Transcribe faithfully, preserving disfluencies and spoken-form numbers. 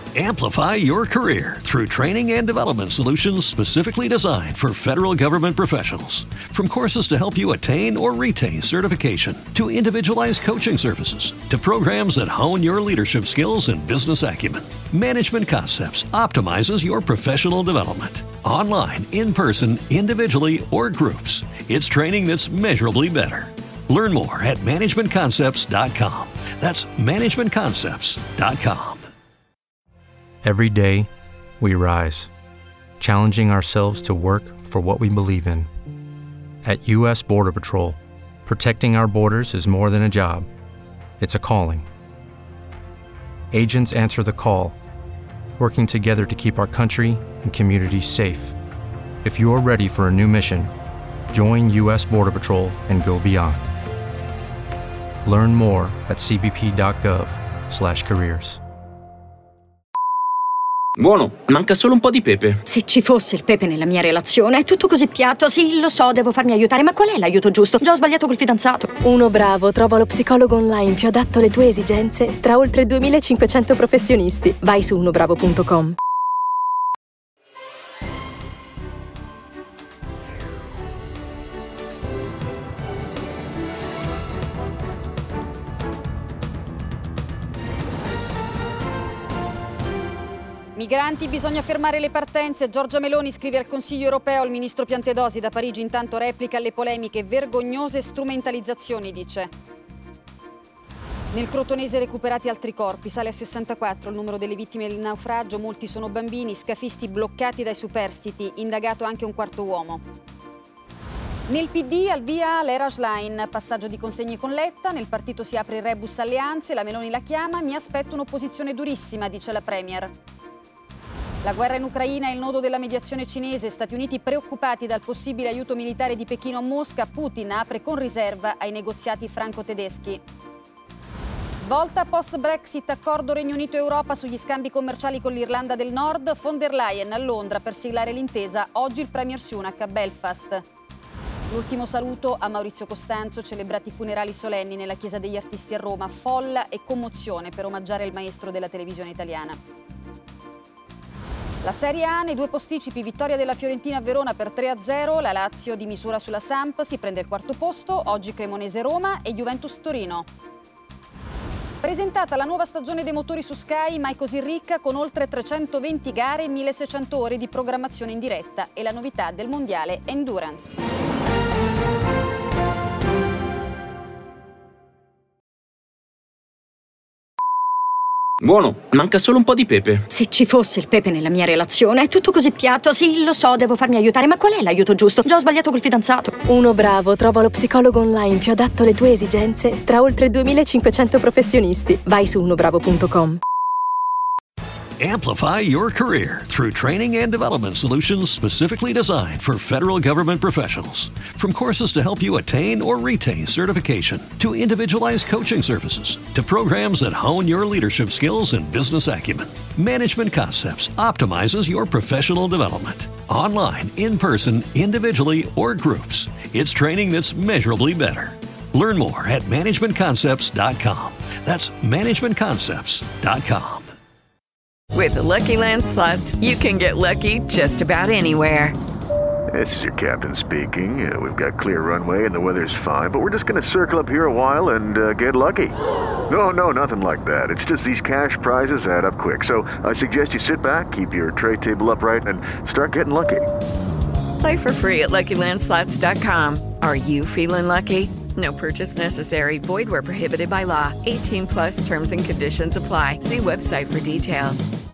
Amplify your career through training and development solutions specifically designed for federal government professionals. From courses to help you attain or retain certification, to individualized coaching services, to programs that hone your leadership skills and business acumen, Management Concepts optimizes your professional development. Online, in person, individually, or groups, it's training that's measurably better. Learn more at management concepts dot com. That's management concepts dot com. Every day, we rise, challenging ourselves to work for what we believe in. At U S Border Patrol, protecting our borders is more than a job. It's a calling. Agents answer the call, working together to keep our country and communities safe. If you're ready for a new mission, join U S Border Patrol and go beyond. Learn more at c b p dot gov slash careers. Buono, manca solo un po' di pepe. Se ci fosse il pepe nella mia relazione, è tutto così piatto. Sì, lo so, devo farmi aiutare, ma qual è l'aiuto giusto? Già ho sbagliato col fidanzato. Uno Bravo trova lo psicologo online più adatto alle tue esigenze tra oltre duemilacinquecento professionisti. Vai su uno bravo punto com. Migranti, bisogna fermare le partenze. Giorgia Meloni scrive al Consiglio europeo, il ministro Piantedosi da Parigi intanto replica alle polemiche, vergognose strumentalizzazioni, dice. Nel Crotonese recuperati altri corpi, sale a sessantaquattro il numero delle vittime del naufragio, molti sono bambini, scafisti bloccati dai superstiti, indagato anche un quarto uomo. Nel P D al via l'era Schlein, passaggio di consegne con Letta, nel partito si apre il rebus alleanze, la Meloni la chiama, mi aspetto un'opposizione durissima, dice la Premier. La guerra in Ucraina è il nodo della mediazione cinese, Stati Uniti preoccupati dal possibile aiuto militare di Pechino a Mosca, Putin apre con riserva ai negoziati franco-tedeschi. Svolta post-Brexit, accordo Regno Unito-Europa sugli scambi commerciali con l'Irlanda del Nord, von der Leyen a Londra per siglare l'intesa, oggi il Premier Sunak a Belfast. L'ultimo saluto a Maurizio Costanzo, celebrati i funerali solenni nella Chiesa degli Artisti a Roma, folla e commozione per omaggiare il maestro della televisione italiana. La Serie A nei due posticipi, vittoria della Fiorentina a Verona per tre a zero, la Lazio di misura sulla Samp si prende il quarto posto, oggi Cremonese-Roma e Juventus-Torino. Presentata la nuova stagione dei motori su Sky, mai così ricca, con oltre trecentoventi gare e milleseicento ore di programmazione in diretta e la novità del mondiale Endurance. Buono, manca solo un po' di pepe. Se ci fosse il pepe nella mia relazione, è tutto così piatto. Sì, lo so, devo farmi aiutare, ma qual è l'aiuto giusto? Già ho sbagliato col fidanzato. Uno Bravo trova lo psicologo online più adatto alle tue esigenze tra oltre duemilacinquecento professionisti. Vai su uno bravo punto com. Amplify your career through training and development solutions specifically designed for federal government professionals. From courses to help you attain or retain certification, to individualized coaching services, to programs that hone your leadership skills and business acumen, Management Concepts optimizes your professional development. Online, in person, individually, or groups, it's training that's measurably better. Learn more at management concepts dot com. That's management concepts dot com. With the Lucky Land Slots, you can get lucky just about anywhere. This is your captain speaking. Uh, we've got clear runway and the weather's fine, but we're just going to circle up here a while and uh, get lucky. No, no, nothing like that. It's just these cash prizes add up quick. So I suggest you sit back, keep your tray table upright, and start getting lucky. Play for free at lucky land slots dot com. Are you feeling lucky? No purchase necessary. Void where prohibited by law. eighteen plus terms and conditions apply. See website for details.